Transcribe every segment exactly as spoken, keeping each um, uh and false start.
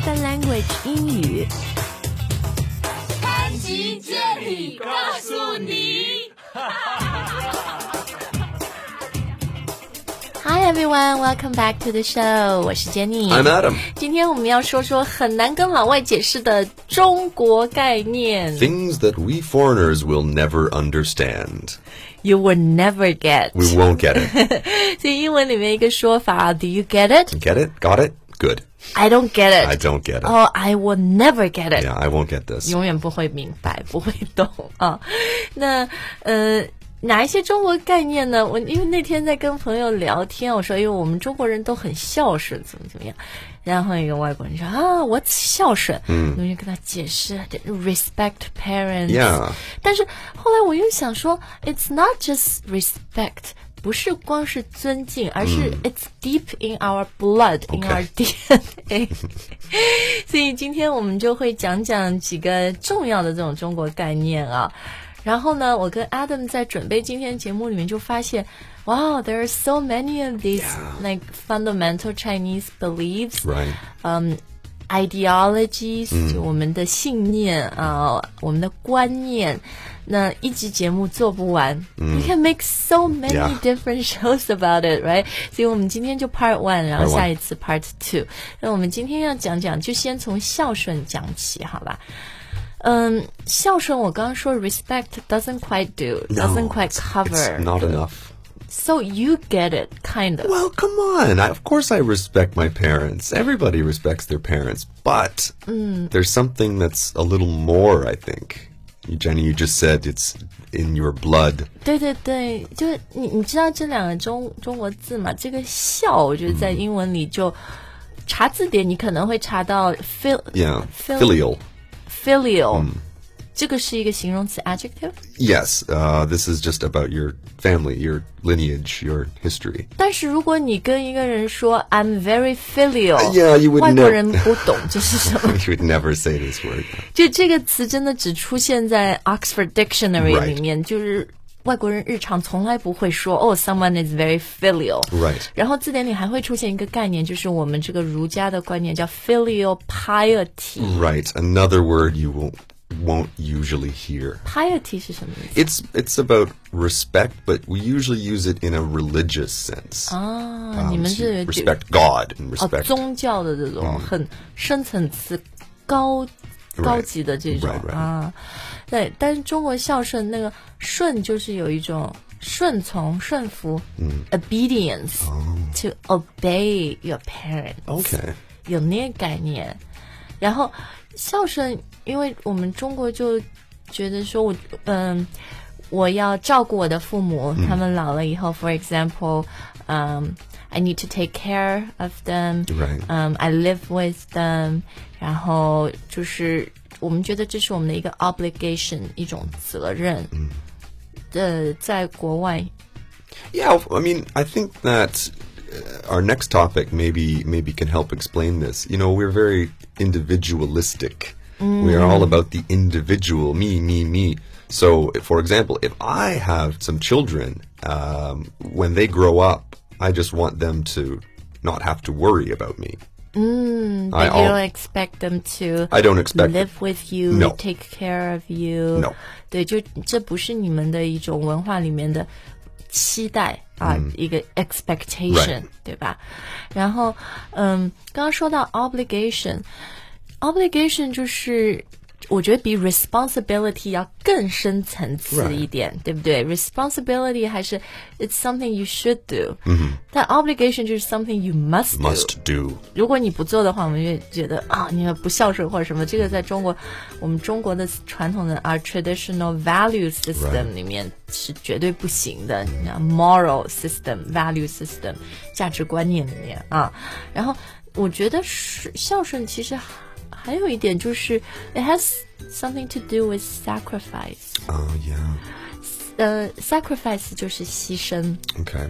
Spoken Language 英语。 潘吉接力告诉你。 Hi everyone, welcome back to the show. 我是 Jenny. I'm Adam. 今天我们要说说很难跟老外解释的中国概念。 Things that we foreigners will never understand. You will never get. We won't get it. 所以英文里面一个说法 Do you get it? Get it? Got it? Good. I don't get it. I don't get it. Oh, I will never get it. Yeah, I won't get this. 永远不会明白，不会懂啊。那呃。哪一些中国概念呢？我因为那天在跟朋友聊天，我说，因为我们中国人都很孝顺，怎么怎么样。然后一个外国人说啊 ，What's 孝顺？嗯，我就跟他解释 ，respect parents。Yeah。但是后来我又想说 ，It's not just respect， 不是光是尊敬，而是 It's deep in our blood，in、okay. our D N A 。所以今天我们就会讲讲几个重要的这种中国概念啊。然后呢，我跟 Adam 在准备今天节目里面就发现 Wow, there are so many of these yeah. like fundamental Chinese beliefs, right. um, ideologies、 嗯、 就我们的信念啊、呃，我们的观念。那一集节目做不完、嗯、You can make so many、yeah. different shows about it, right? 所以我们今天就 part one, 然后下一次 part two。那我们今天要讲讲，就先从孝顺讲起，好吧？嗯，孝顺我刚刚说 respect doesn't quite do, doesn't quite cover. It's not enough. So you get it, kind of. Well, come on. I, of course I respect my parents. Everybody respects their parents. But mm. there's something that's a little more, I think. Jenny, you just said it's in your blood. 对对对，就是你你知道这两个中中国字嘛？这个孝，我觉得在英文里就、嗯、查字典，你可能会查到 fil yeah fil filial filial、 嗯、 这个是一个形容词 adjective. Yes, uh, this is just about your family, your lineage, your history. 但是如果你跟一个人说 I'm very filial, uh, yeah, you would 外国人不懂这是什么。 You would never say this word. 就这个词真的只出现在 Oxford Dictionary 里面， right. 就是外国人日常从来不会说哦 someone is very filial. Right. 然后字典里还会出现一个概念，就是我们这个儒家的观念叫 filial piety. Right, another word you won't won't usually hear. Piety 是什么意思？ It's it's about respect, but we usually use it in a religious sense. 啊， um, 你们是 respect God and respect、 哦、宗教的这种很深层次、高高级的这种 right, right. 啊。对，但是中国孝顺那个顺就是有一种顺从、顺服、嗯、obedience、oh. to obey your parents. Okay. 有那个概念，然后。孝顺，因为我们中国就觉得说我，嗯，我要照顾我的父母，嗯、他们老了以后 ，for example， 嗯、um, ，I need to take care of them， right. 嗯、um, ，I live with them， 然后就是我们觉得这是我们的一个 obligation， 一种责任。嗯，呃，在国外 ，Yeah, I mean, I think that our next topic maybe maybe can help explain this. You know, we're very individualistic. Mm. We are all about the individual, me, me, me. So, for example, if I have some children, um, when they grow up, I just want them to not have to worry about me. Mm, but I, you don't expect them to I don't expect live with you, no. take care of you. No. 对，就这不是你们的一种文化里面的期待啊、嗯、一个 expectation、right. 对吧？然后嗯刚刚说到 obligation obligation 就是我觉得比 responsibility 要更深层次一点、right. 对不对？ responsibility 还是 it's something you should do、mm-hmm. 但 obligation 就是 something you must do, must do. 如果你不做的话我们就觉得啊你不孝顺或者什么，这个在中国我们中国的传统的 our traditional value system 里面是绝对不行的、right. moral system value system 价值观念里面啊。然后我觉得孝顺其实还有一点就是 it has something to do with sacrifice. Oh, yeah. 呃、uh, sacrifice 就是牺牲。 Okay.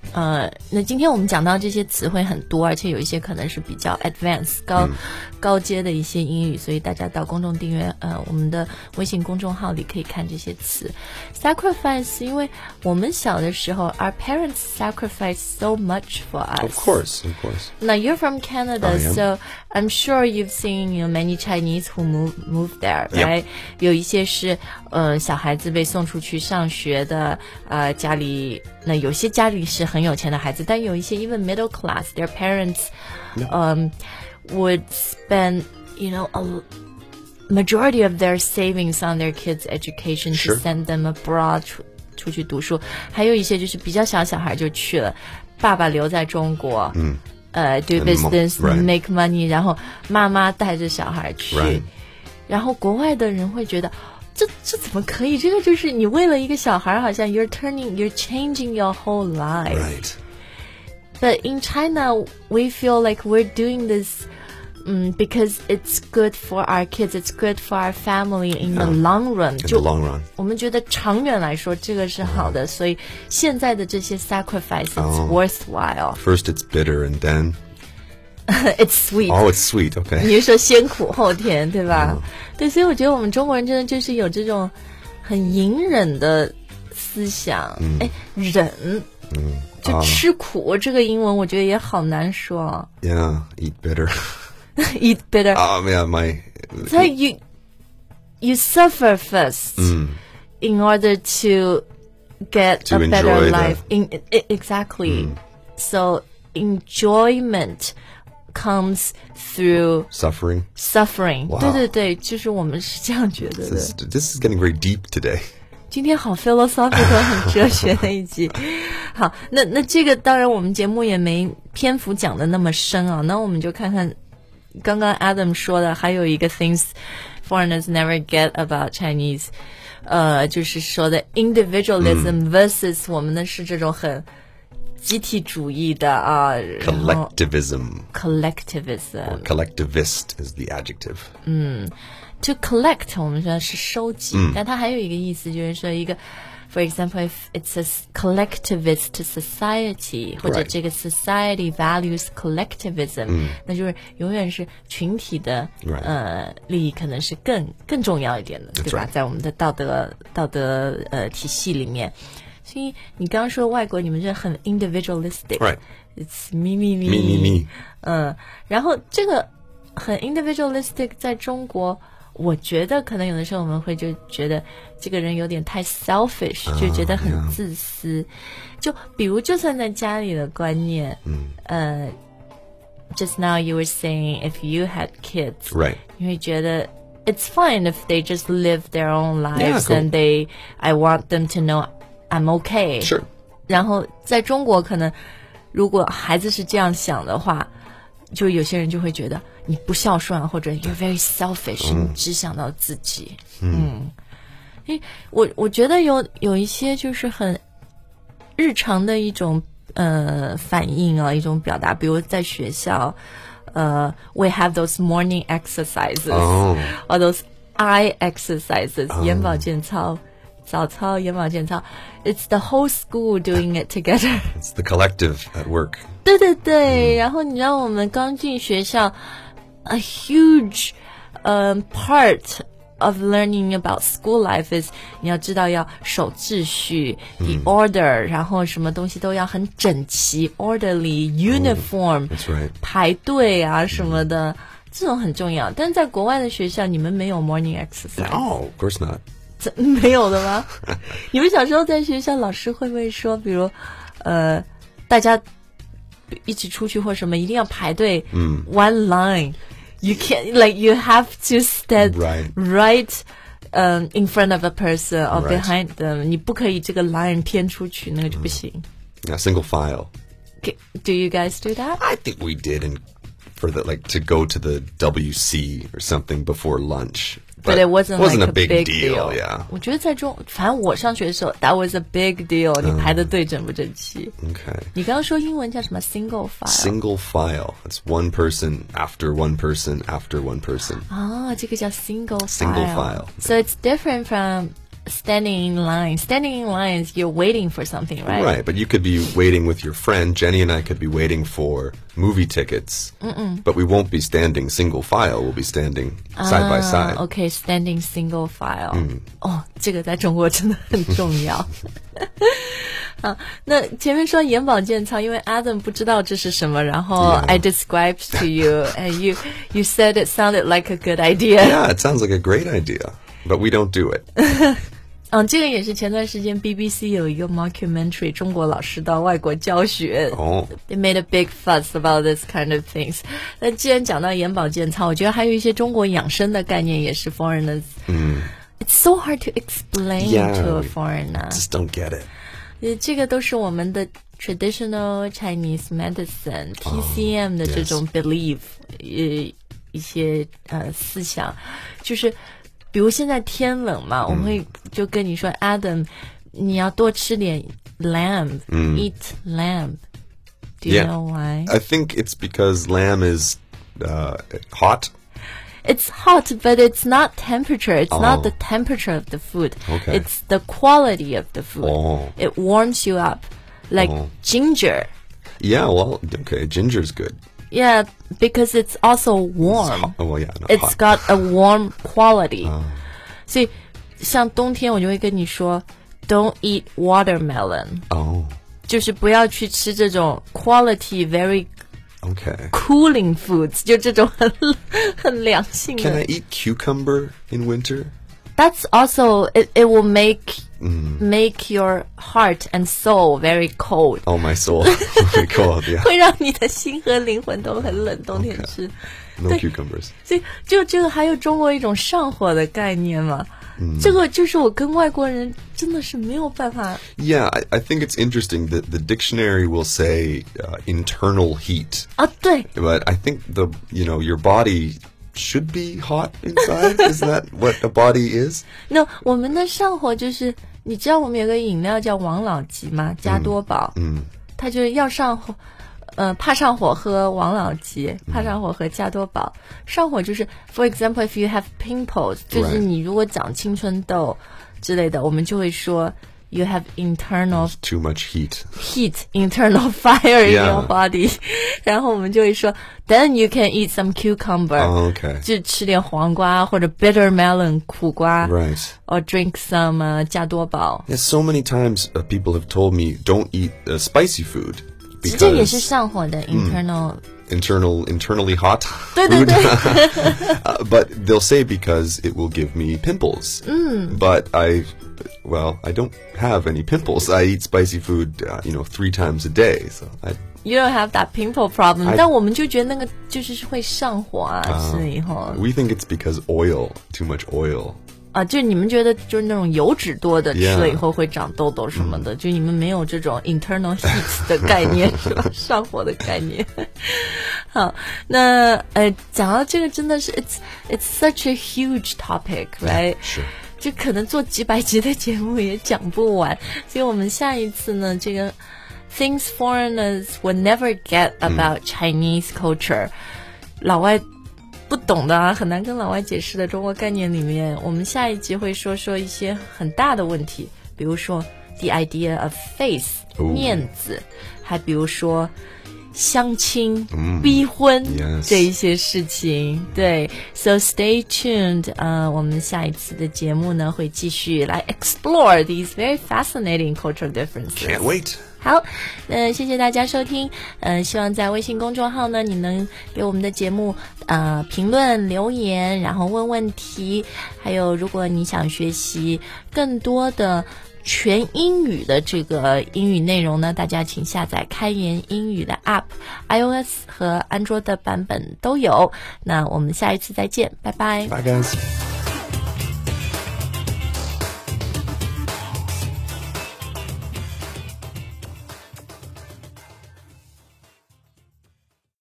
呃，那今天我们讲到这些词汇很多，而且有一些可能是比较 advanced 高、嗯、高阶的一些英语，所以大家到公众订阅呃我们的微信公众号里可以看这些词。Sacrifice， 因为我们小的时候 our parents sacrificed so much for us. Of course, of course. Now you're from Canada, so I'm sure you've seen you know many Chinese who move move there, right? Yep. 有一些是呃小孩子被送出去上学的，呃家里那有些家里是很有钱的孩子，但有一些 even middle class, their parents um would spend you know a majority of their savings on their kids' education Sure. to send them abroad 出出去读书。还有一些就是比较小小孩就去了，爸爸留在中国，嗯，呃 do business right. make money， 然后妈妈带着小孩去， right. 然后国外的人会觉得这这怎么可以？这个就是你为了一个小孩，好像 you're turning, you're changing your whole life. Right. But in China, we feel like we're doing this um, because it's good for our kids, it's good for our family in the long run. In the long run. 我们觉得长远来说这个是好的， 所以现在的这些 sacrifice, it's oh. worthwhile. First it's bitter and then it's sweet. Oh, it's sweet. Okay. 你是说先苦后甜，对吧？ 嗯、 对，所以我觉得我们中国人真的就是有这种很隐忍的思想。哎、嗯，忍，嗯，就吃苦、嗯，这个英文我觉得也好难说。 Yeah, eat bitter. Eat bitter. Um, yeah, my. So you you suffer first、嗯、in order to get to a better life. The... In exactly. 嗯、So enjoyment.comes through suffering. Suffering. Wow. 对对对，就是我们是这样觉得的。 This is, this is getting very deep today. 今天好 philosophical 很哲学的一集。好，那那这个当然我们节目也没篇幅讲的那么深啊，那我们就看看刚刚 Adam 说的，还有一个 things foreigners never get about Chinese， 呃，就是说的 individualism versus、嗯、我们的是这种很集体主义的啊 collectivism collectivism or collectivist is the adjective. 嗯 to collect 我们说是收集、嗯、但它还有一个意思就是说一个 for example if it's a collectivist society 或者这个 society values collectivism、嗯、那就是永远是群体的、 right. 呃利益可能是更更重要一点的，对吧？ right. 在我们的道德道德呃体系里面。所以你刚刚说外国你们这很 individualistic， right. It's me me me me me me， 嗯，然后这个很 individualistic 在中国，我觉得可能有的时候我们会就觉得这个人有点太 selfish，、uh, 就觉得很自私。Yeah. 就比如就算在家里的观念，嗯，呃 ，just now you were saying if you had kids， right， 你会觉得。It's fine if they just live their own lives、yeah, cool. and they, I want them to know.I'm okay. Sure. 然后在中国可能如果孩子是这样想的话，就有些人就会觉得你不孝顺，或者 you're very selfish、嗯、你只想到自己。嗯，因为我我觉得有有一些就是很日常的一种呃反应啊，一种表达，比如在学校呃 we have those morning exercises、oh. or those eye exercises、oh. 眼保健操早操眼保健操 It's the whole school doing it together. It's the collective at work. 对对对、嗯、然后你知道我们刚进学校 a huge、um, part of learning about school life is 你要知道要守秩序、嗯、the order 然后什么东西都要很整齐 orderly uniform、oh, that's right. 排队啊什么的、嗯、这种很重要。但是在国外的学校你们没有 morning exercise. No, of course not. 没有的吗？你们小时候在学校老师会不会说比如呃大家一起出去或什么一定要排队、嗯、one line you can't like you have to stand right, right um, in front of a person or right. behind them 你不可以这个 line 偏出去那个就不行、嗯、 yeah, single file. Do you guys do that? I think we did in, for the like to go to the W C or something before lunch.But it wasn't, wasn't like a big, big deal, deal. Yeah. 我觉得在中，反正我上学的时候 ，that was a big deal. 你排的队整不整齐？ Okay. 你刚刚说英文叫什么 ？Single file. Single file. It's one person after one person after one person. 啊，这个叫 single file. Single file. So it's different from standing in line. Standing in line is you're waiting for something, right? Right, but you could be waiting with your friend. Jenny and I could be waiting for movie tickets, Mm-mm. but we won't be standing single file. We'll be standing side by side. Okay, standing single file. 嗯，哦，这个在中国真的很重要。好，那前面说眼保健操，因为 Adam 不知道这是什么，然后 Yeah. I described to you, and you you said it sounded like a good idea. Yeah, it sounds like a great idea, but we don't do it. 嗯，这个也是前段时间 B B C 有一个 mockumentary 中国老师到外国教学。 Oh. They made a big fuss about this kind of things. 那既然讲到眼保健操，我觉得还有一些中国养生的概念也是 foreigners. 嗯 It's so hard to explain Yeah, to a we foreigner. Just don't get it. 呃，这个都是我们的 traditional Chinese medicine T C M 的这种 belief，、呃，一些呃思想，就是比如现在天冷嘛，我们会就跟你说 Adam， 你要多吃点 lamb，、eat lamb. Do you Yeah. know why? I think it's because lamb is uh, hot. It's hot, but it's not temperature. It's Oh. not the temperature of the food. Okay. It's the quality of the food. Oh. It warms you up, like Oh. ginger. Yeah, well, okay, ginger's good. Yeah, because it's also warm. It's hot. Oh, well, yeah, not It's hot. got a warm quality. 所以像冬天我就会跟你说 don't eat watermelon. Oh, 就是不要去吃这种 quality very okay. cooling foods. 就这种很很凉性的。 Can I eat cucumber in winter? That's also it, it will make make your heart and soul very cold. Oh, my soul. Very cold, yeah. 会让你的心和灵魂都很冷，冬天吃。 No 对 cucumbers. 所以就这个还有中国一种上火的概念嘛，这个就是我跟外国人真的是没有办法。 Yeah, I, I think it's interesting that the dictionary will say uh, internal heat. 啊，对 But I think the, you know, your body should be hot inside. Is that what a body is? 那我们的上火就是，你知道我们有个饮料叫王老吉吗？加多宝，嗯，它就是要上火，呃，怕上火喝王老吉，怕上火喝加多宝。上火就是 ，for example, if you have pimples， 就是你如果长青春痘之类的，我们就会说 you have internal Too much heat. heat, internal fire in Yeah. your body， 然后我们就会说 then you can eat some cucumber，、 Oh, okay. 就吃点黄瓜或者 bitter melon 苦瓜 Right. or drink some 呃加多宝。 Yeah, so many times uh, people have told me don't eat uh, spicy food 这也是 because 上火的 internal、 internal internally hot 对对 food. 对 uh, but they'll say because it will give me pimples. But I, well, I don't have any pimples. I eat spicy food, uh, you know, three times a day. So I, You don't have that pimple problem， I- 但我们就觉得那个就是会上火啊，吃了以后 we think it's because oil, too much oil. 啊，就你们觉得就是那种油脂多的 Yeah. 吃了以后会长痘痘什么的，就你们没有这种 internal heat 的概念是吧？上火的概念。好，那呃，讲到这个真的是 it's it's such a huge topic, right？ 是。 就可能做几百集的节目也讲不完，所以我们下一次呢，这个 things foreigners will never get about Chinese culture，、老外不懂的啊，很难跟老外解释的中国概念里面，我们下一集会说说一些很大的问题，比如说 the idea of face、 哦面子，还比如说相亲、逼婚、 Yes. 这一些事情。对 ，so stay tuned， 呃，我们下一次的节目呢会继续来 explore these very fascinating cultural differences。 Can't wait. 好，呃，谢谢大家收听，呃，希望在微信公众号呢，你能给我们的节目呃评论留言，然后问问题，还有如果你想学习更多的全英语的这个英语内容呢，大家请下载开言英语的 App，iOS 和安卓的版本都有。那我们下一次再见，拜拜。 Bye, guys.